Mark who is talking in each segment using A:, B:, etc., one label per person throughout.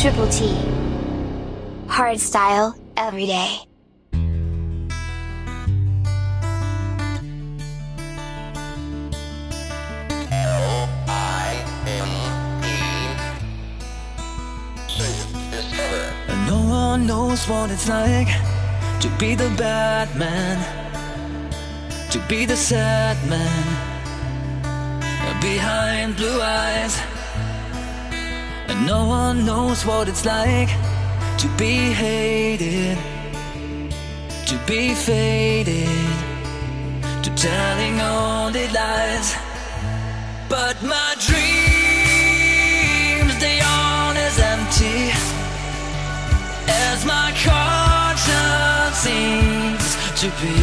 A: Triple T. Hardstyle, every day.
B: No one knows what it's like to be the bad man, to be the sad man behind blue eyes. And no one knows what it's like to be hated, to be faded, to telling only lies. But my dreams, they aren't as empty as my conscience seems to be.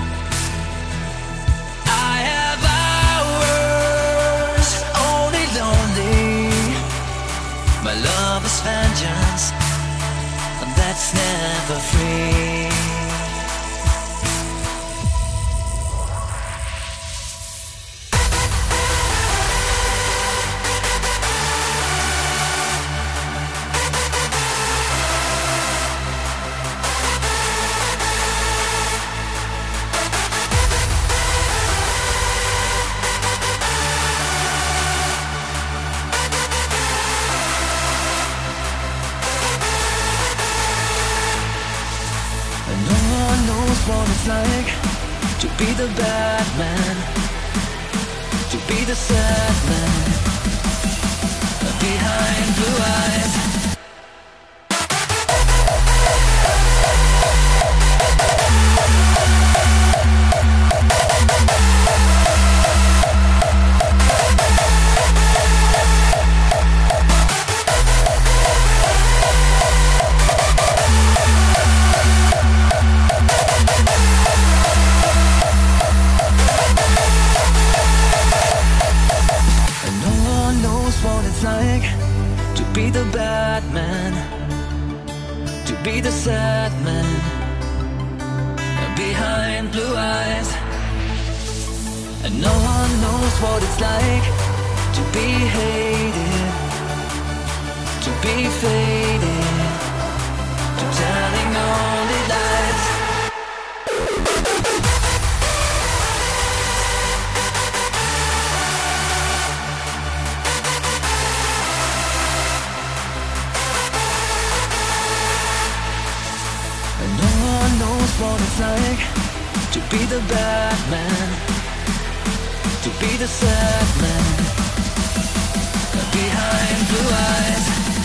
B: I have hours only lonely. My love is vengeance, and that's never free. What it's like to be the bad man, to be the sad man behind blue eyes. To be the bad man, to be the sad man behind blue eyes. And no one knows what it's like to be hated, to be faded, to telling only lies. What it's like to be the bad man, to be the sad man behind blue eyes.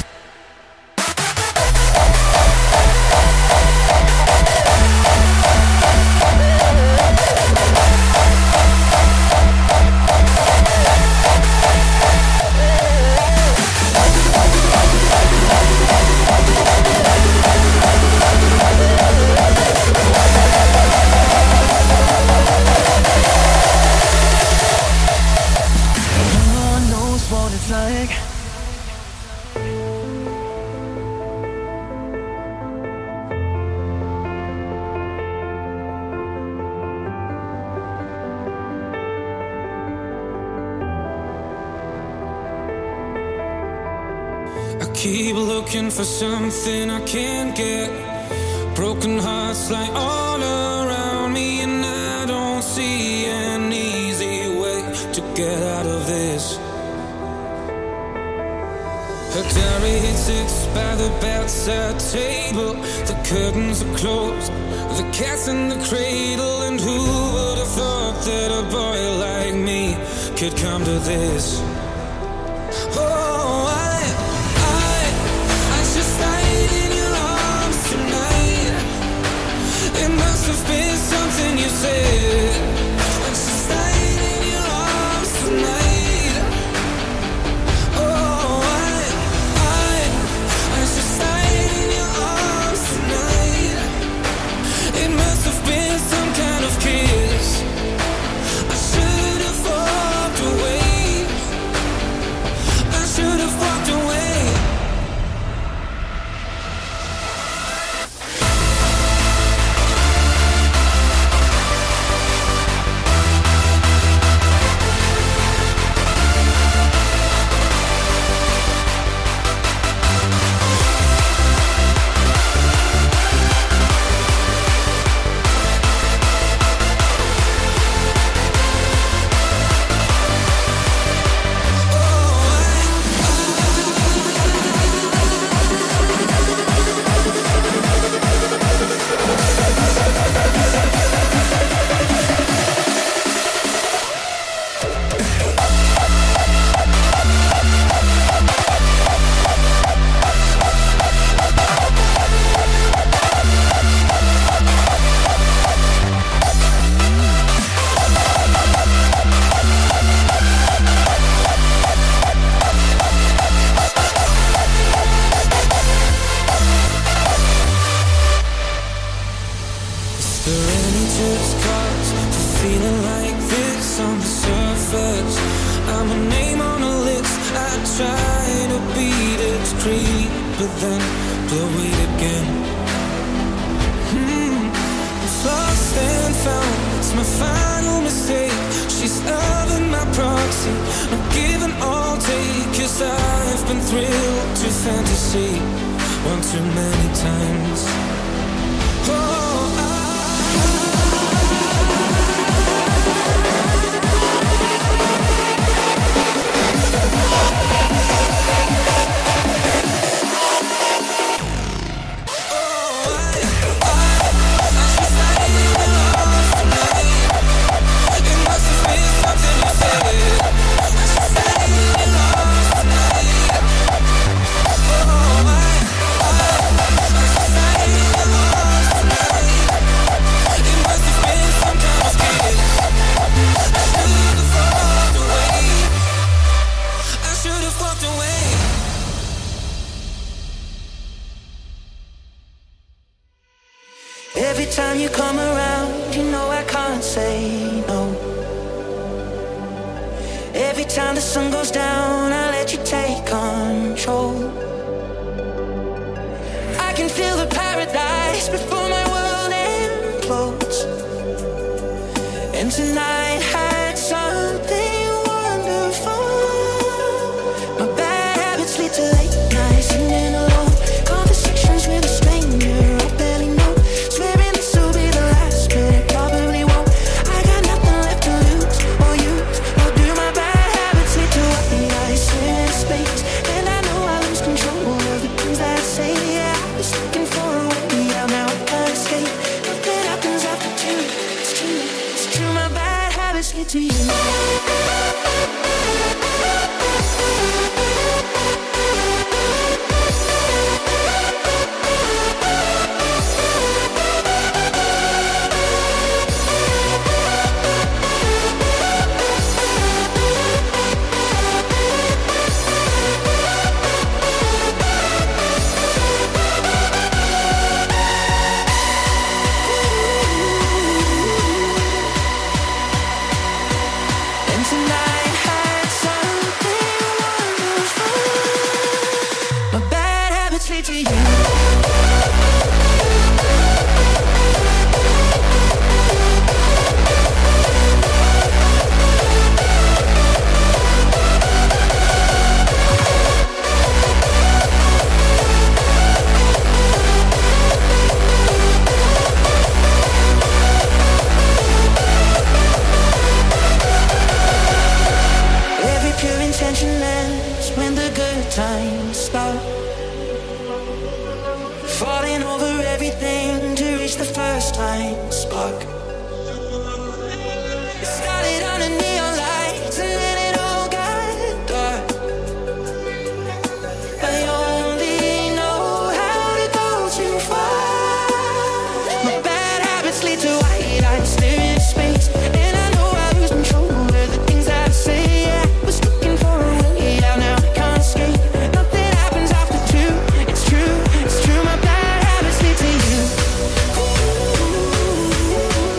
C: Keep looking for something I can't get. Broken hearts lie all around me, and I don't see an easy way to get out of this. Her diary sits by the bedside table. The curtains are closed, the cat's in the cradle. And who would have thought that a boy like me could come to this? Oh, I just died in your arms tonight. It must have been something you said. I just died in your arms tonight. Oh, I just died in your arms tonight. It must have been some kind of kiss. I should have walked away. but then blow it again. Lost and found, it's my final mistake. She's loving my proxy, I'm giving all take. Cause I've been thrilled to fantasy one too many times.
B: Every time you come around, you know I can't say no. Every time the sun goes down, I let you take control. I can feel the paradise before my world implodes. And tonight had something wonderful. My bad habits lead to late nights singing alone. Conversations with a stranger I barely know. Swearing this will be the last, but it probably won't. I got nothing left to lose or use. Or do my bad habits lead to what I swim in space? And I know I lose control of the things that I say. Yeah, I was looking for a way out, now I can't escape. Nothing happens after two. It's true, my bad habits lead to you. Falling over everything to reach the first time spark. It started under neon lights and then it all got dark. I only know how to go too far. My bad habits lead to white eyes staring at space. And I know I lose control of the things I say. Yeah, I was looking for a way out, now I can't escape. Nothing happens after two. It's true, my bad habits lead to you. Ooh.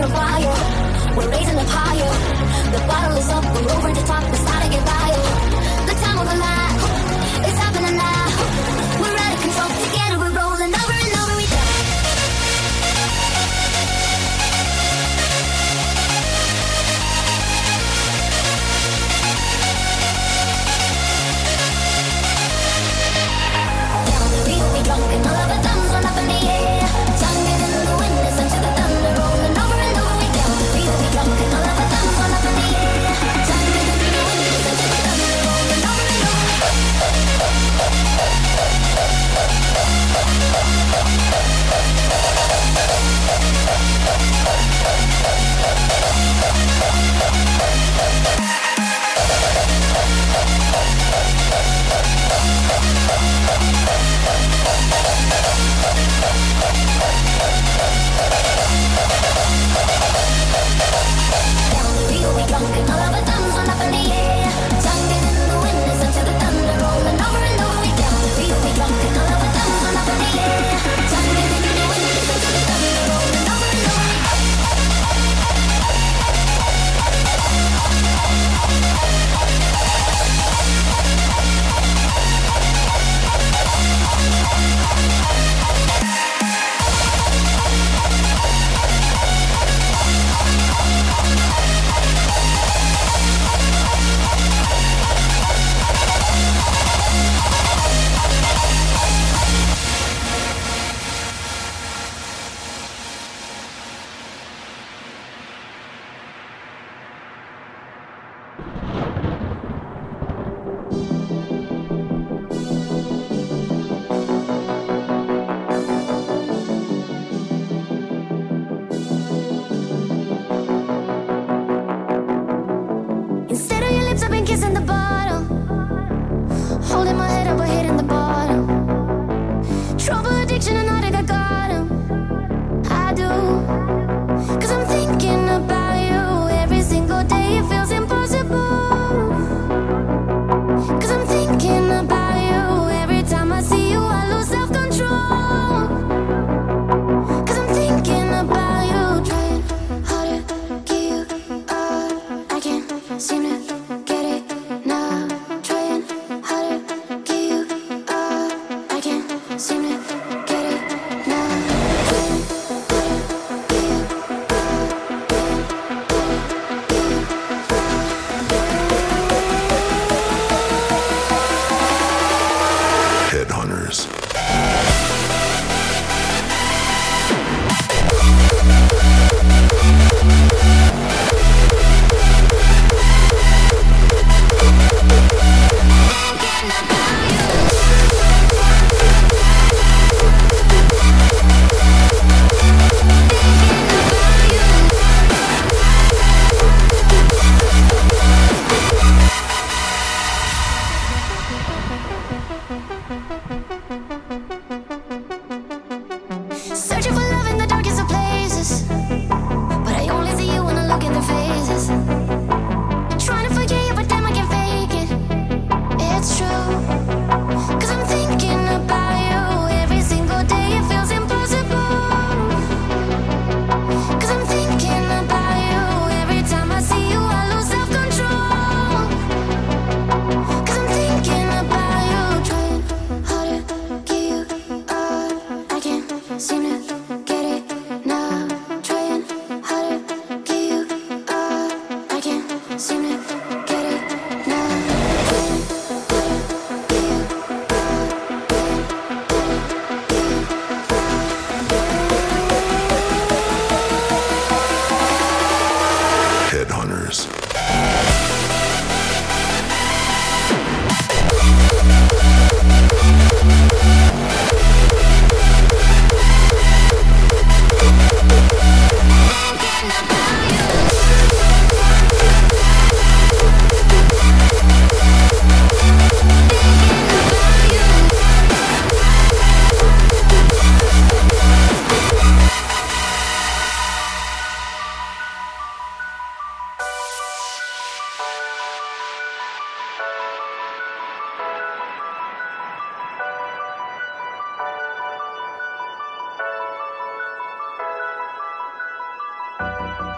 A: on fire. We're raising up higher. The bottle is up, we're over the top, it's time to get wild. The time of a life, it's happening now. We're out of control, together we're rolling over and over we go. Down the river we drunk and all of our thumbs run up in the air. Tonguing in the wind, listen to the thunder rolling over and over we down the river we drunk and all of our thumbs run up in the air. Tonguing in the wind, listen to the thunder rolling over and over.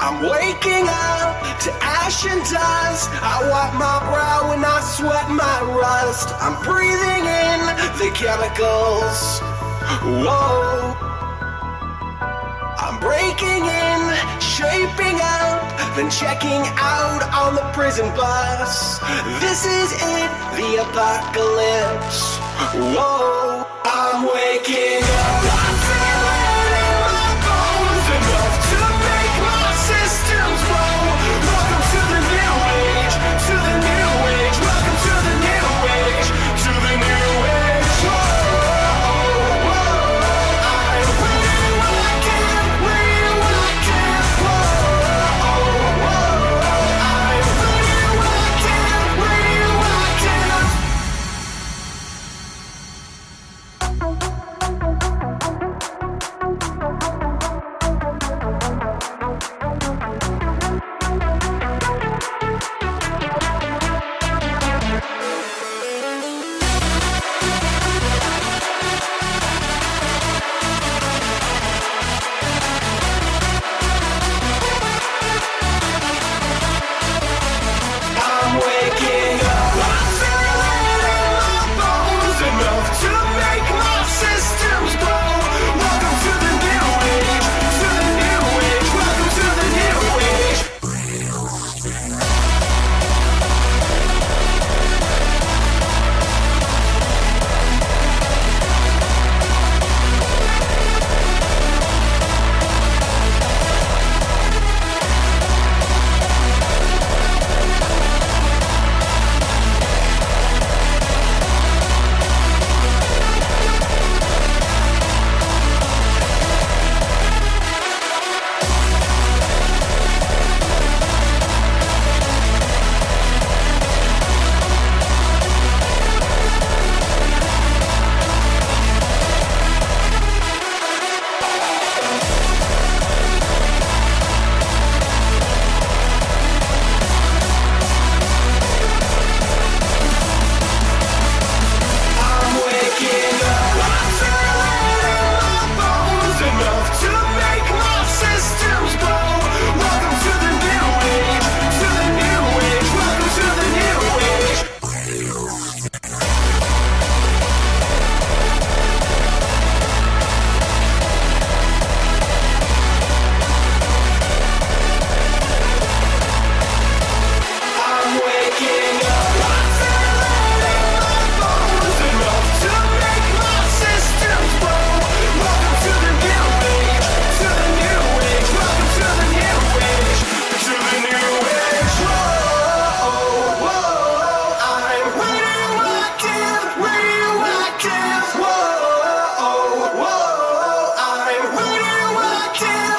D: I'm waking up to ash and dust. I wipe my brow and I sweat my rust. I'm breathing in the chemicals. Whoa. I'm breaking in, shaping up, then checking out on the prison bus. This is it, the apocalypse. Whoa. I'm waking up. I'm feeling in my bones enough to make my systems grow. Welcome to the new age, to the new age. Welcome to the new age, to the new age. Whoa, whoa, I'm radioactive, radioactive. Whoa, whoa, I'm radioactive, radioactive. I'm waking up. I'm feeling in my bones enough to make my systems grow. Welcome to the new age, to the new age. Welcome to the new age. I'm waking up. I'm feeling in my bones enough to make my systems grow. Welcome to the new age, to the new age. Welcome to the new age. I'm waking up. I'm feeling in my bones enough to make my systems grow. Welcome to the new age, to the new age. Welcome to the new age, to the new age. Whoa, whoa, I'm radioactive, radioactive. Whoa, whoa, I'm radioactive.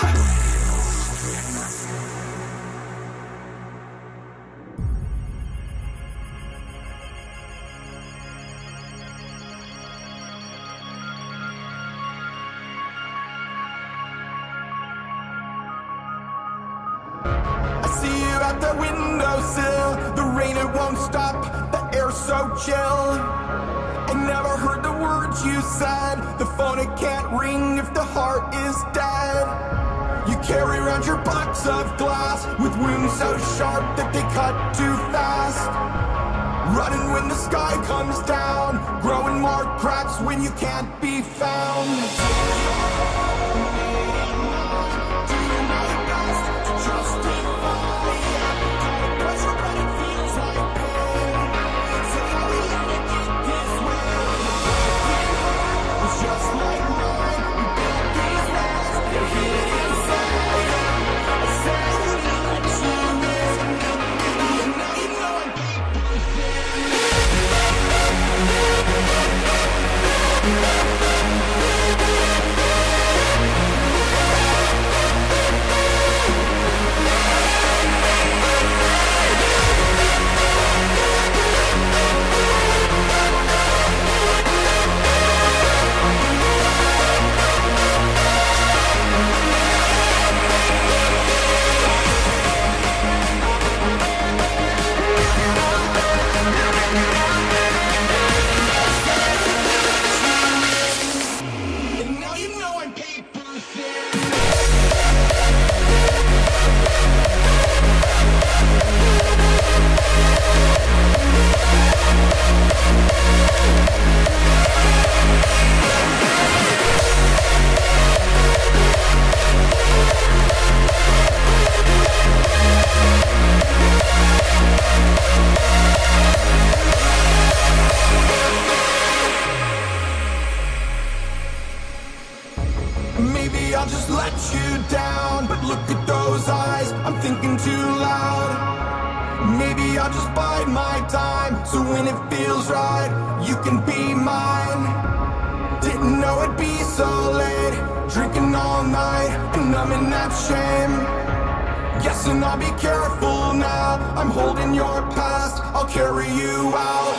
E: I see you at the windowsill. The rain, it won't stop. The air's so chill. I never heard the words you said. The phone, it can't ring if the heart is dead. You carry around your box of glass with wounds so sharp that they cut too fast. Running when the sky comes down. Growing more cracks when you can't be found. you down, but look at those eyes, I'm thinking too loud. Maybe I'll just bide my time, so when it feels right, you can be mine. Didn't know it'd be so late, drinking all night, and I'm in that shame. Guessing I'll be careful now, I'm holding your past, I'll carry you out.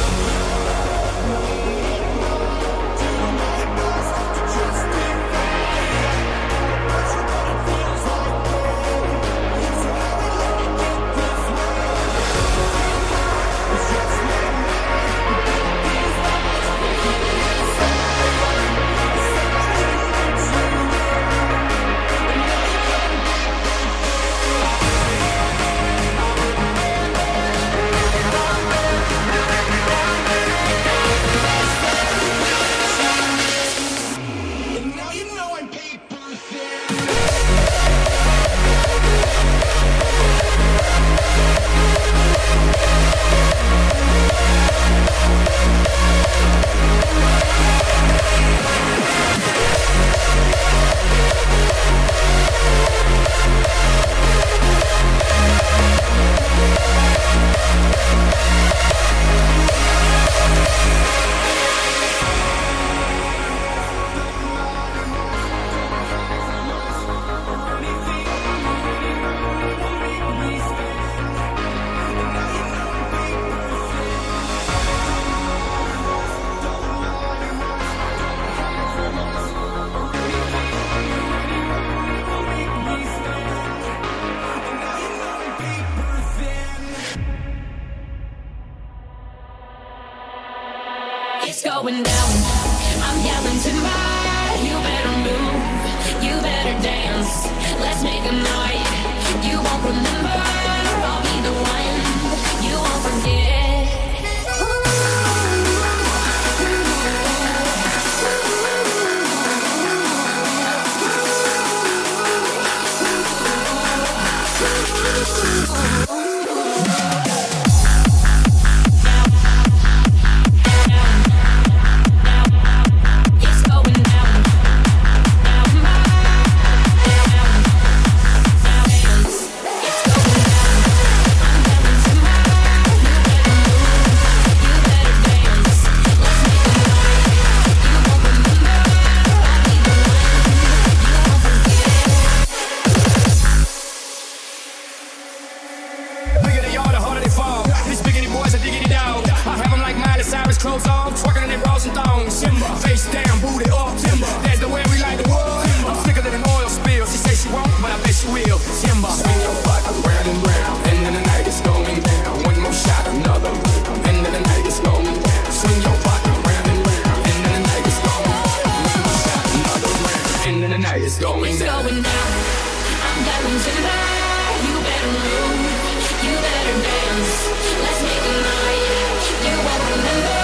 F: It's going down. I'm yelling timber. You better move. You better dance. Let's make a night. You won't remember. I'll be the one. You won't forget.
G: Clothes on, twerking in their bras and thongs. Face down, booty up. That's the way we like the world. I'm sicker than an oil spill. She says she won't, but I bet she will. Timber. Swing your butt round and round, and then the night is going down. One more shot, another round, and then the night is going down. Swing your butt round and round, and then the night is going down. One more shot, another round, and then the night is going down.
F: It's going down. I'm going timber. You better move. You better dance. Let's make a night. You won't remember.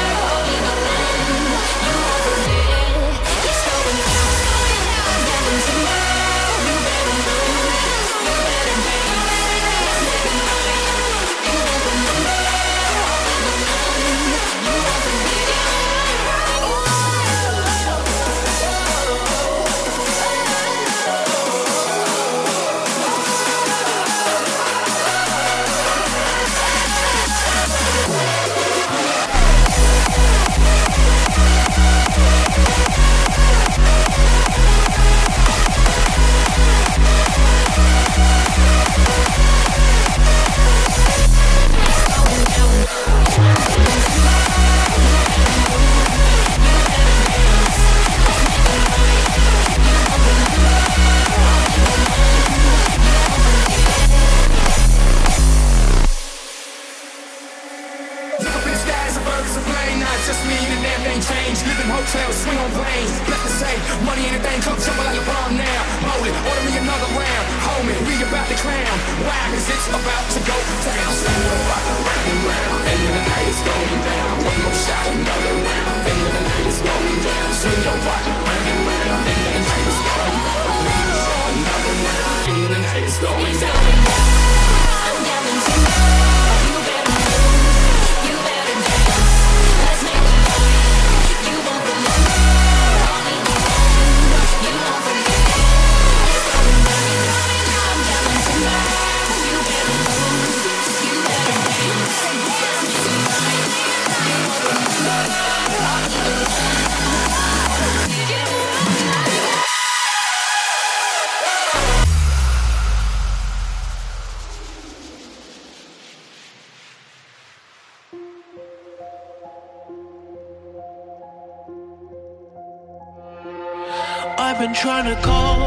G: Swing on planes, bless the same. Money ain't a thing, come jumble like LeBron now. Hold it, order me another round. Hold me, we about to crown. Why? Cause it's about to go down. Swing your rock around and round, and then the night is going down. One more shot, another round, and then the night is going down. Swing your rock around and round, and then the night is going down. Another round, and then the night is going down.
F: I'm yelling timber. You better move. You better dance. Let's make a night. You won't remember. I'll be the one. You won't forget.
H: been trying to call.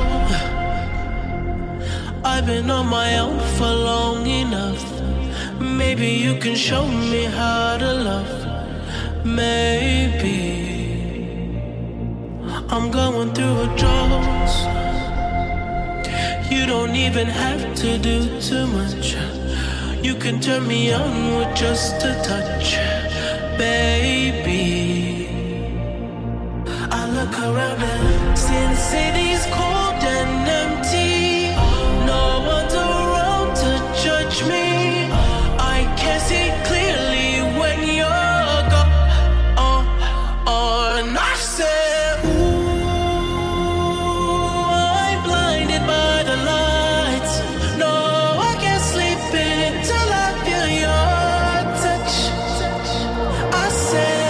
H: I've been on my own for long enough. Maybe you can show me how to love. Maybe I'm going through a drought. You don't even have to do too much. You can turn me on with just a touch, baby. I look around and since city's cold and empty, no one's around to judge me. I can't see clearly when you're gone. And I said, ooh, I'm blinded by the lights. No, I can't sleep until I feel your touch. I said,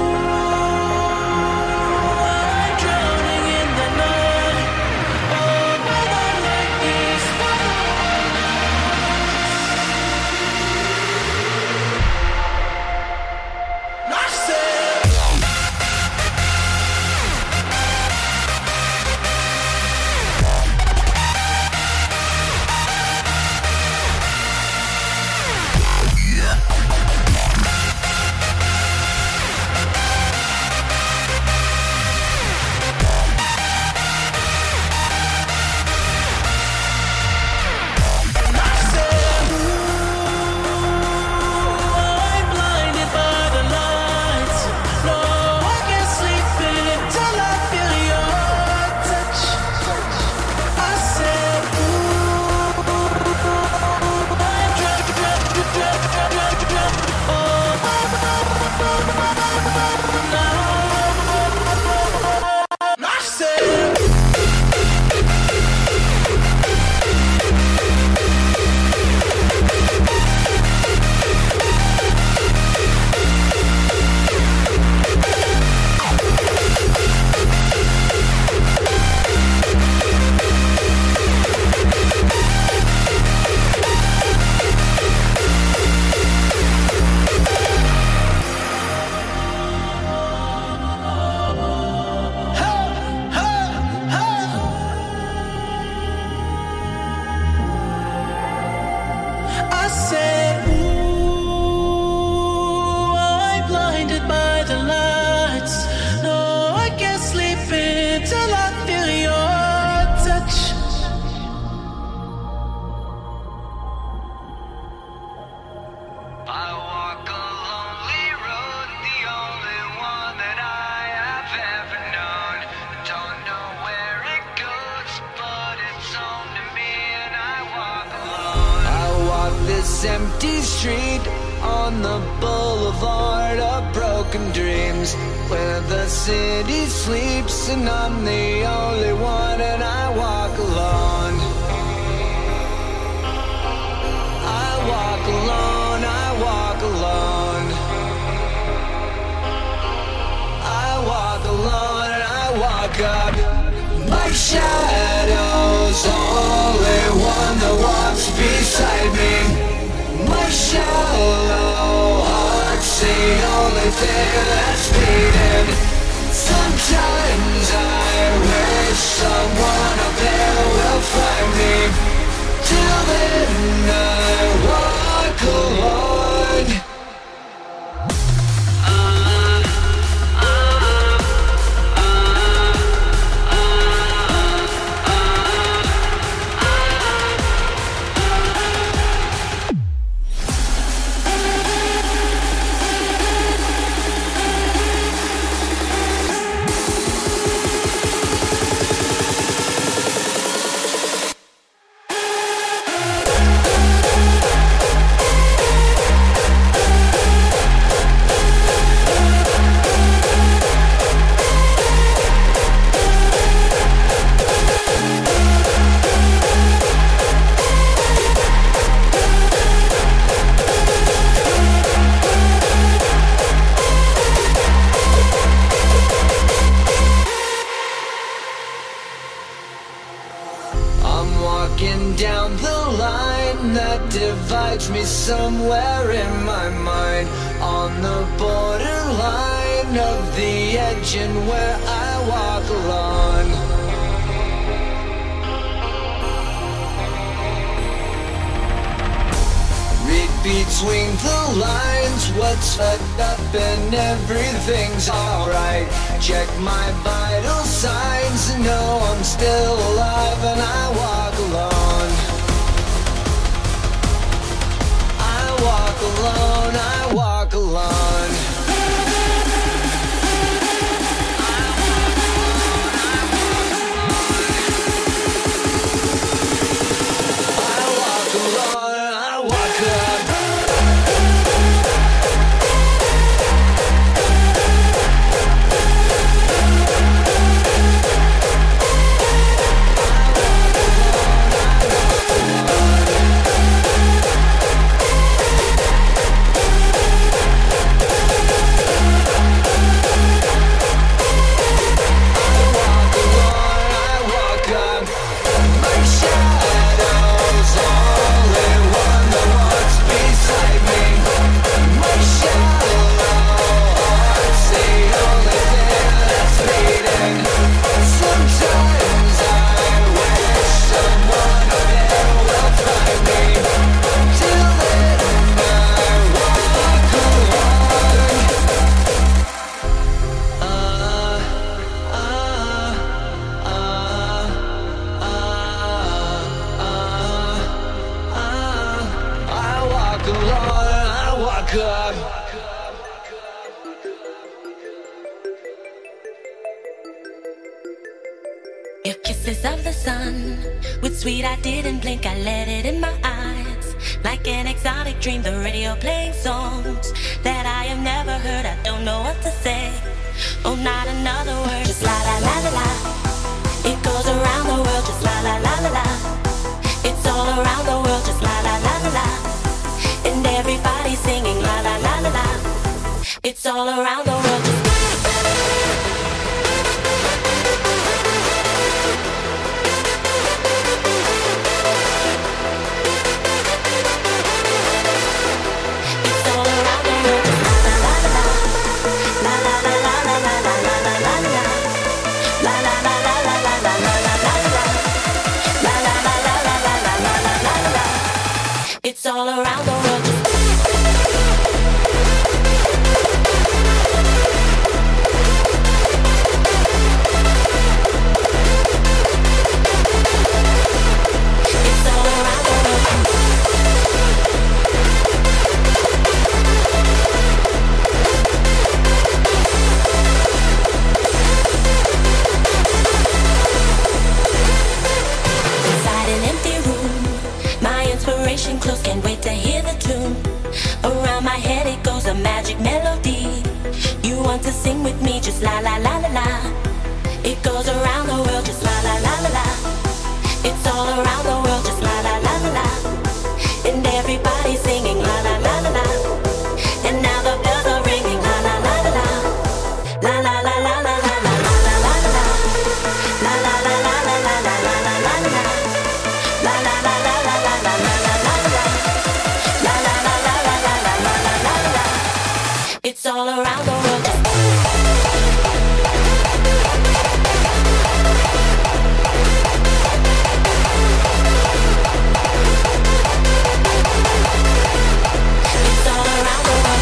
I: empty street on the boulevard of broken dreams, where the city sleeps and I'm the only one, and I walk alone. I walk alone, I walk alone. I walk alone and I walk up. My shadow's only one that walks beside me. My shallow heart's the only thing that's beating. Sometimes I wish someone up there will find me. Till then I walk alone. Down the line that divides me somewhere in my mind, on the borderline of the edge and where I walk alone. between the lines. What's fucked up and everything's alright. Check my vital signs and know I'm still alive and I walk alone. I walk alone, I walk alone.
J: Your kisses of the sun, with sweet I didn't blink, I let it in my eyes. Like an exotic dream, the radio playing songs that I have never heard, I don't know what to say. Oh, not another word, just la la la la la. It goes around the world, just la la la la la. It's all around the world, just la la la la la. And everybody's singing la la la la la. It's all around the world, just it's all around the world. It's all around the world. Inside an empty room, my inspiration close, can't wait to hear the tune. Around my head it goes, a magic melody. You want to sing with me, just la la la la la. It goes around the world, just la la la la la. It's all around the world, just la la la la la. And everybody's singing la la la la la. And now the bells are ringing la la la la la. La la la la la la la la la la la. La la la la la la la la la la la. La la la la la la la la la la la. La la la la la la la la la la la. It's all around the world. It's all around the world.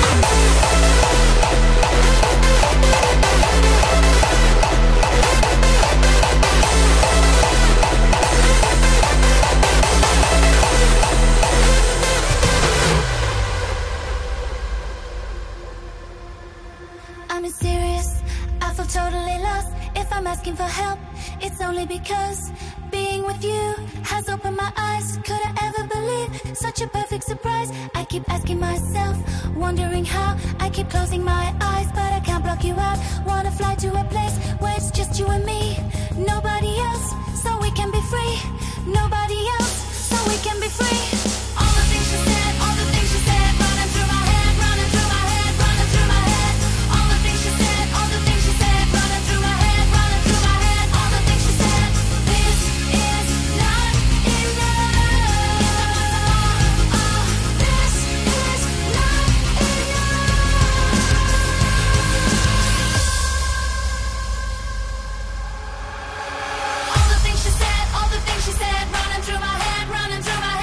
A: I'm serious, I feel totally lost. If I'm asking for help, it's only because being with you has opened my eyes. Could I ever believe such a perfect surprise? I keep asking myself, wondering how. I keep closing my eyes, but I can't block you out. Wanna fly to a place where it's just you and me. Nobody else, so we can be free. Nobody else, so we can be free. All the things you said, all the things you said, running through my head, running through my head, running through my head. All the things you said, all the things you said, running through my head, running through my head. All the things you said. This is not enough. This is not enough. All the things you said, all the things you said, running through my head, running through my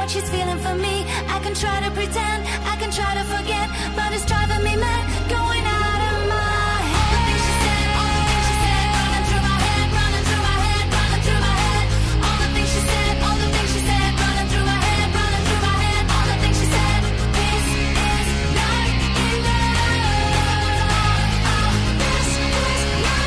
A: she's feeling for me. I can try to pretend, I can try to forget, but it's driving me mad, going out of my head. All the things she said, all the things she said, running through my head, running through my head, running through my head. All the things she said, all the things she said, running through my head, running through my head. All the things she said. This is not enough. This is not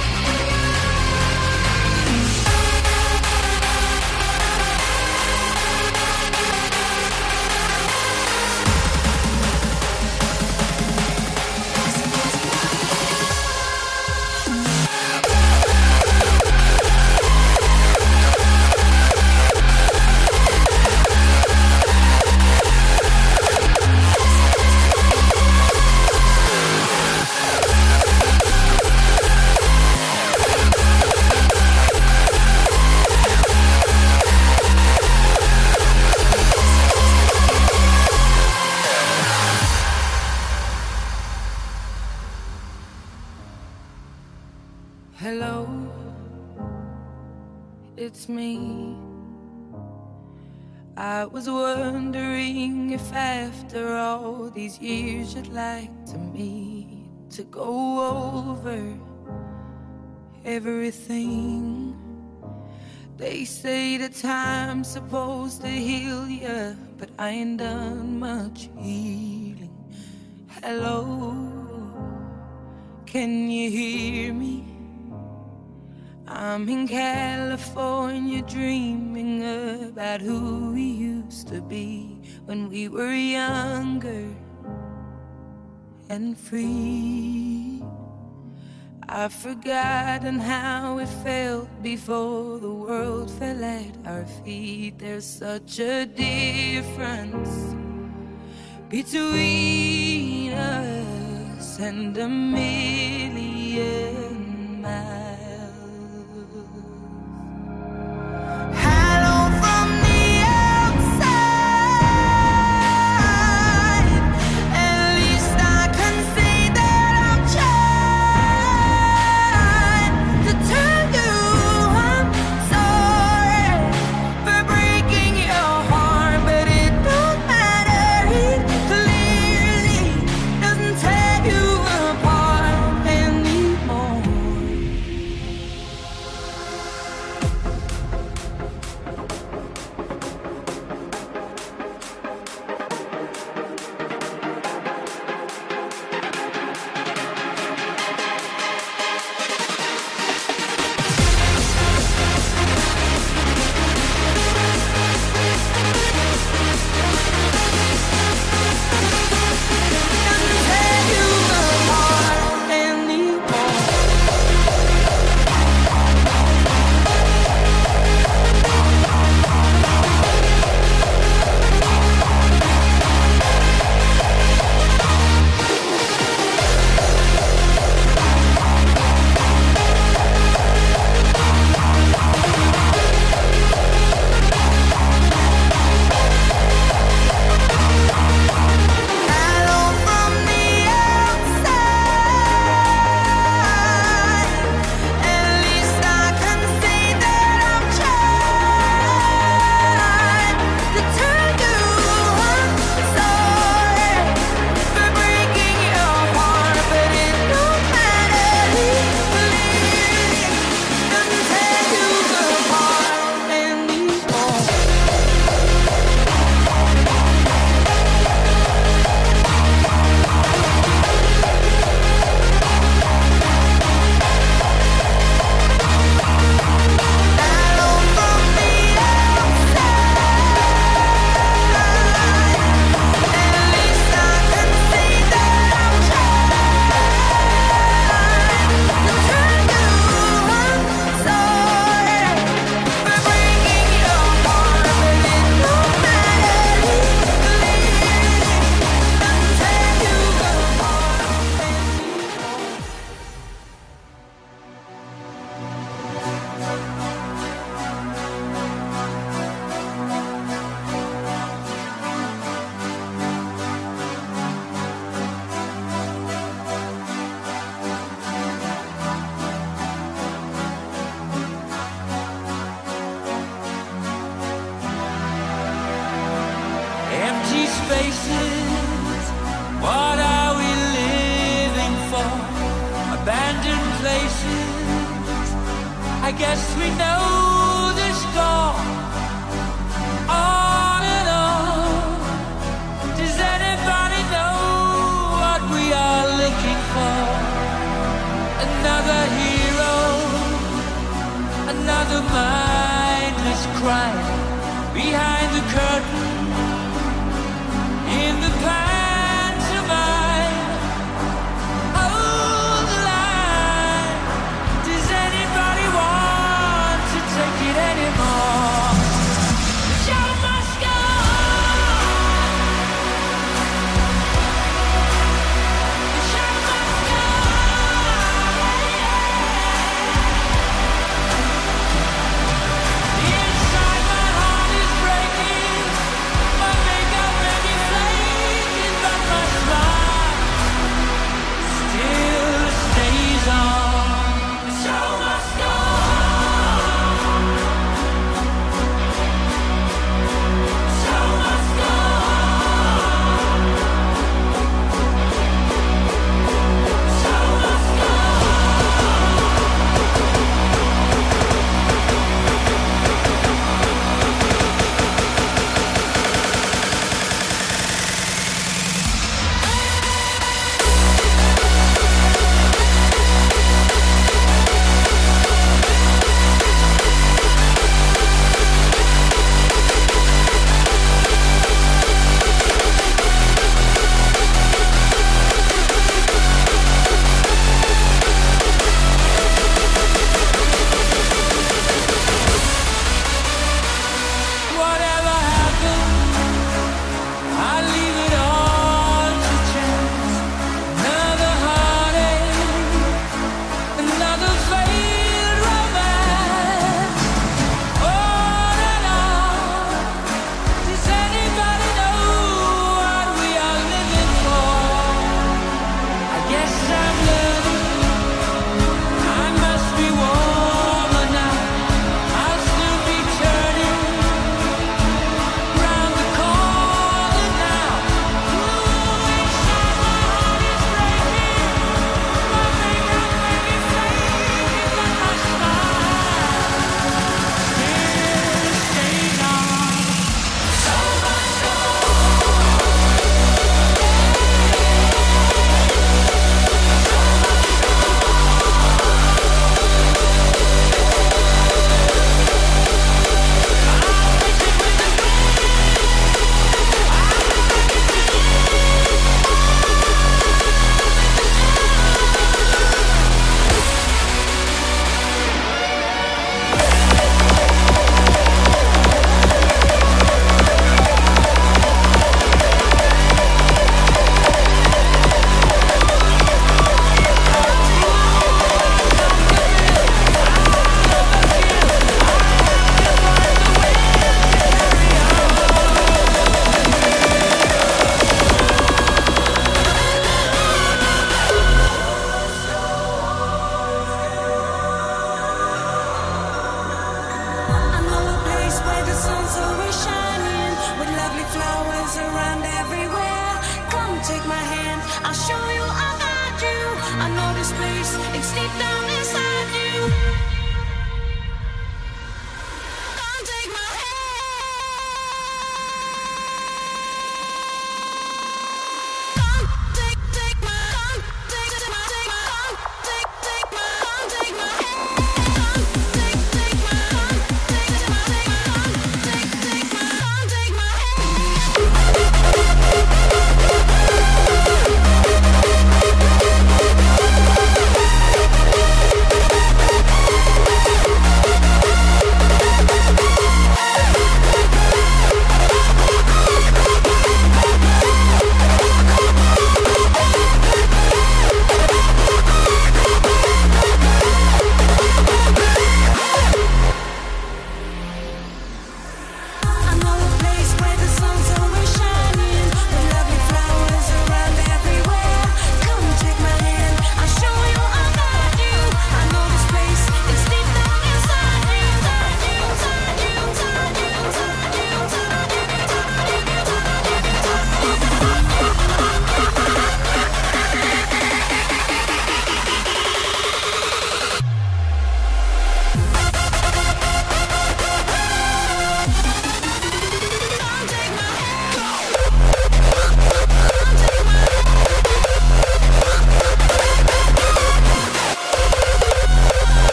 C: Hello, it's me. I was wondering if after all these years you'd like to meet to go over everything. They say the time's supposed to heal ya, but I ain't done much healing. Hello, can you hear me? I'm in California dreaming about who we used to be when we were younger and free. I've forgotten how it felt before the world fell at our feet. There's such a difference between us and a million miles. places. What are we living for? Abandoned places. I guess we know the score. On and on. Does anybody know what we are looking for? Another hero, another mindless crime behind the curtain in the pantomime. Hold the line. Does anybody want to take it anymore? The show must go on. The show must go on. Inside my heart is breaking. My makeup may be flaking, but my smile still stays on. The show must go on. The show must go on. The show must go Whatever happens, I leave it all to chance. Another heartache, another failed romance. On and on. Does anybody know what we are living for? I guess I'm learning. I must be warmer now. I'll still be turning round the corner now. Ooh, inside my heart is breaking. My makeup may be flaking, but my smile still stays on. So much
K: I know a place where the sun's always shining, with lovely flowers around everywhere. Come take my hand, I'll show you, I'll guide you. I know this place, it's deep down inside you. Come take my hand. Come take my, come take my, take my, come take my, come take my hand. Come take my, come take my, take my, come take my, come take my hand.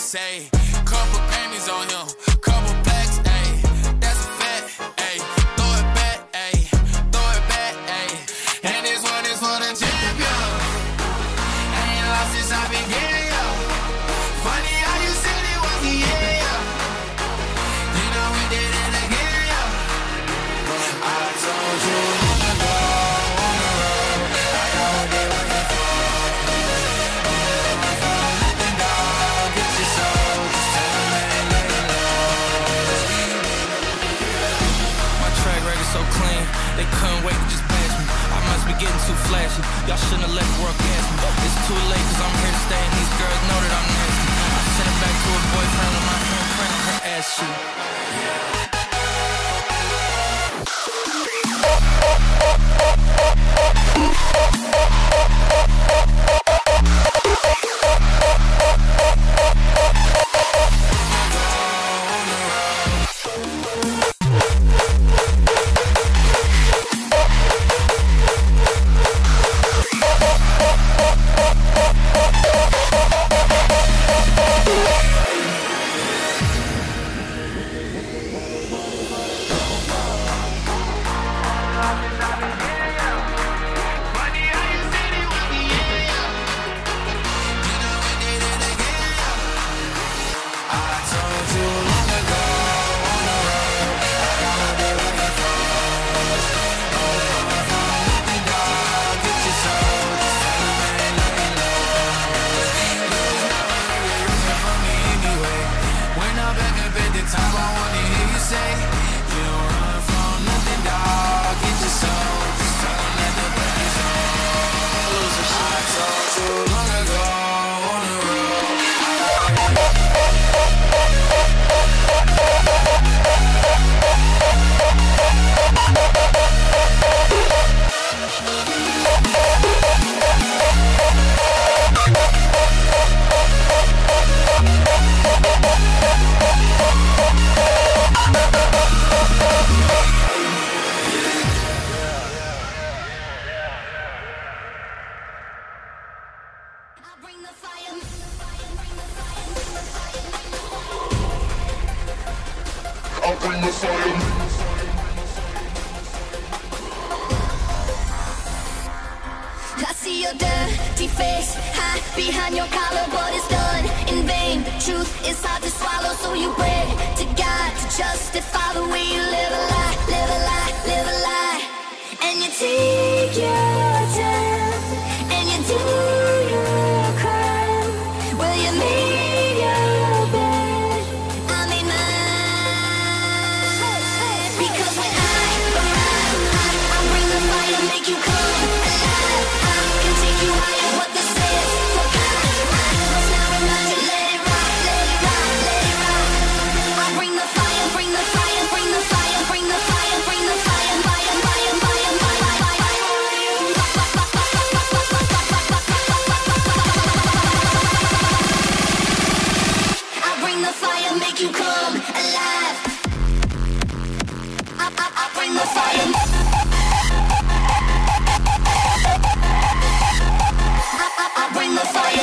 L: say. Couple pennies on him, couple blacks, ayy. That's a fact, ayy. Throw it back, ayy. Throw it back, ayy. And this one is for the champion. I ain't lost since I began, yo. Funny how you said it was the end, yo. You know we did it again, yo. I told you long ago on the road, I know what they waiting for. Nothing, dog, get your soul. Just tell them that ain't letting low.
C: My track record so clean, they couldn't wait to just pass me. I must be getting too flashy. Y'all shouldn't have let the world gas me. It's too late cause I'm here to stay and these girls know that I'm nasty. I sent it back to her boyfriend with my handprint on her ass cheek.
A: I see your dirty face hide behind your collar, but it's done in vain. The truth is hard to swallow, so you pray to God to justify the way you live a lie, live a lie, live a lie. And you take your time and you do your crime. Well, you made your bed, I made mine. Because when I arrive, I bring the fire, make you come alive. I can take you higher, what this is. Forgot, I must now remind you, let it rock, let it rock, let it rock. I bring the fire, bring the fire, bring the fire, bring the fire, bring the fire, fire, fire, fire, fire, fire. I bring the fire, make you come alive. I bring the fire. I bring the fire.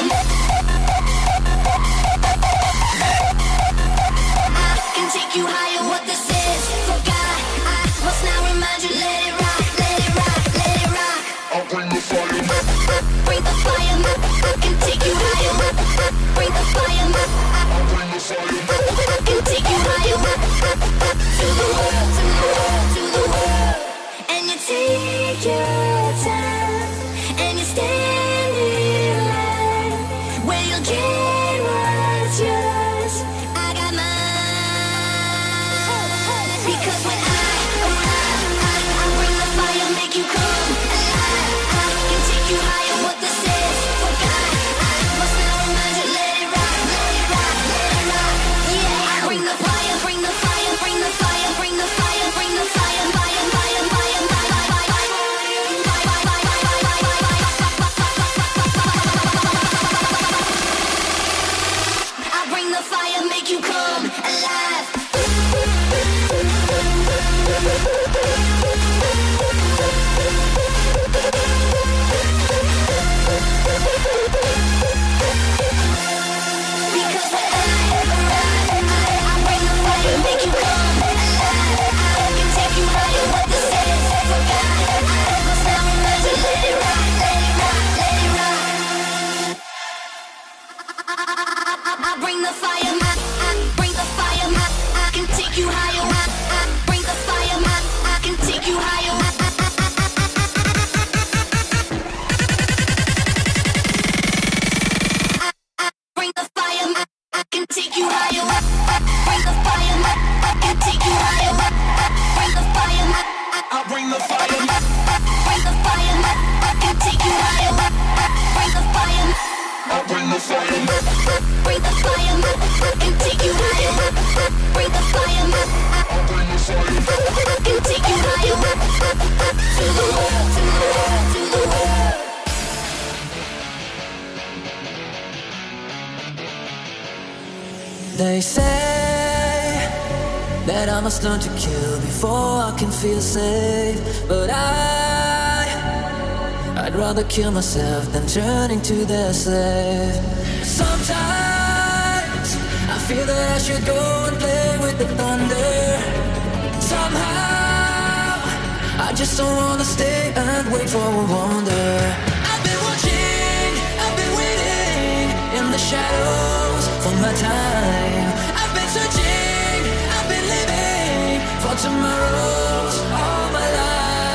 A: I can take you higher, what this is. Forgot, I must now remind you, let it rock, let it rock, let it rock. I bring the fire. Bring the fire. I can take you higher. Bring the fire. I bring the fire. I can take you higher. To the world, to the world, to the world. And you take your time and you stand in line where you'll get what's yours. I got mine. Because when I arrive, I bring the fire, make you come alive. I can take you higher, what this is. Forgot, I must now remind you, let it rock, let it rock, let it rock. Yeah, I bring the fire, bring the fire, bring the fire, bring the fire, bring the fire, fire, fire, fire, fire, fire, fire, fire, fire. bring the fire, bring the fire, and take you higher. Bring the fire, bring the fire, and take you higher. To the world, to the world, to the world.
M: They say that I must learn to kill before I can feel safe. But I'd rather kill myself than turn into their slave. Sometimes I feel that I should go and play with the thunder. Somehow I just don't wanna stay and wait for a wonder. I've been watching, I've been waiting in the shadows for my time. I've been searching, I've been living for tomorrows all my life.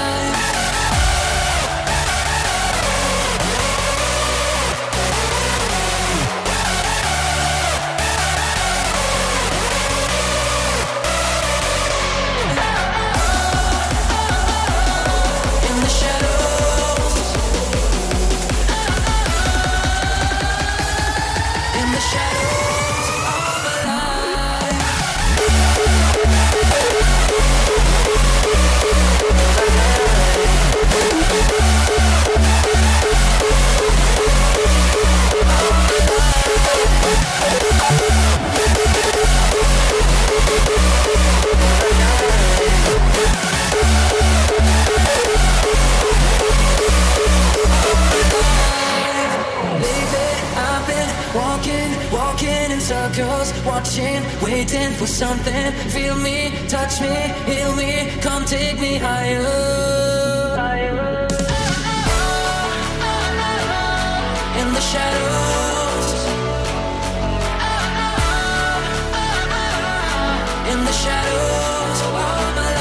M: Circles, watching, waiting for something. Feel me, touch me, heal me, come take me higher. In the shadows. In the shadows of all my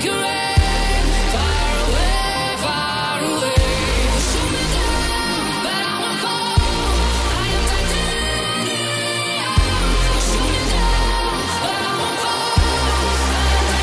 F: take your aim far away, far away. Shoot me down, but I won't fall. I am titanium. Shoot me down, but I won't fall. I am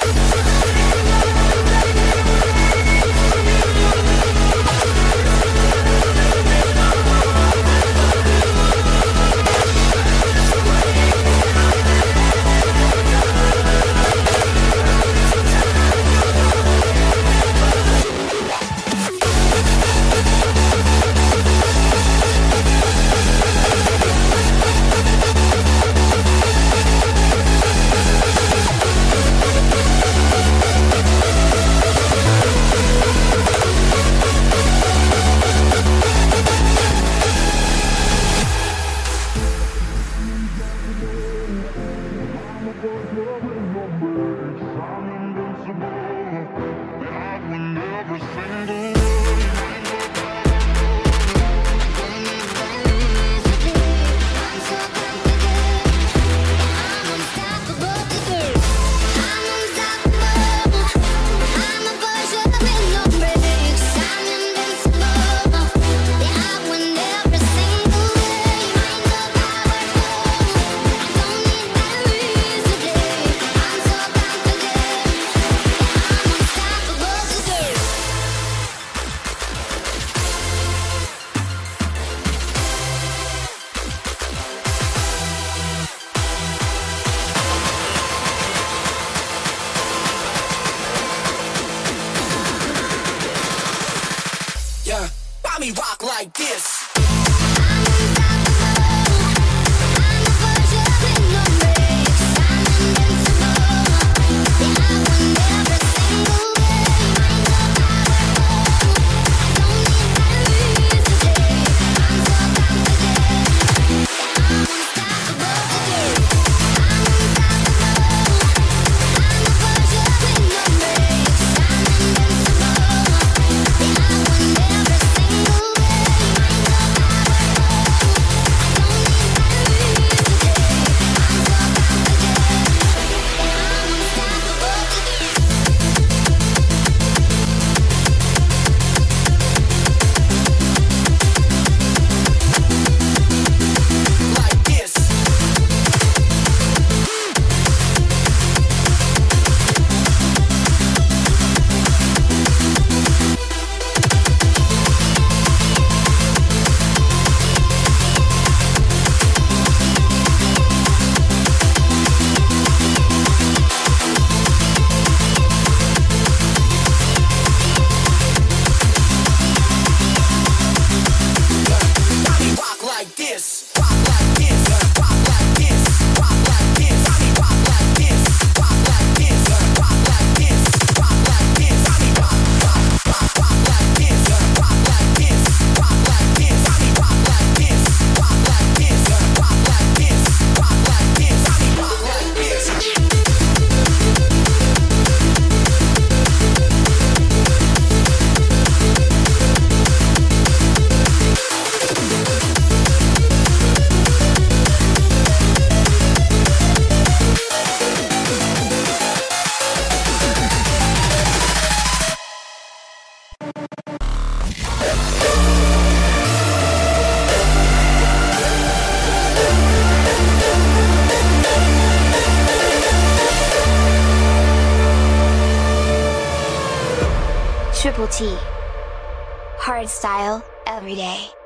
A: Triple T. Hard style, every day.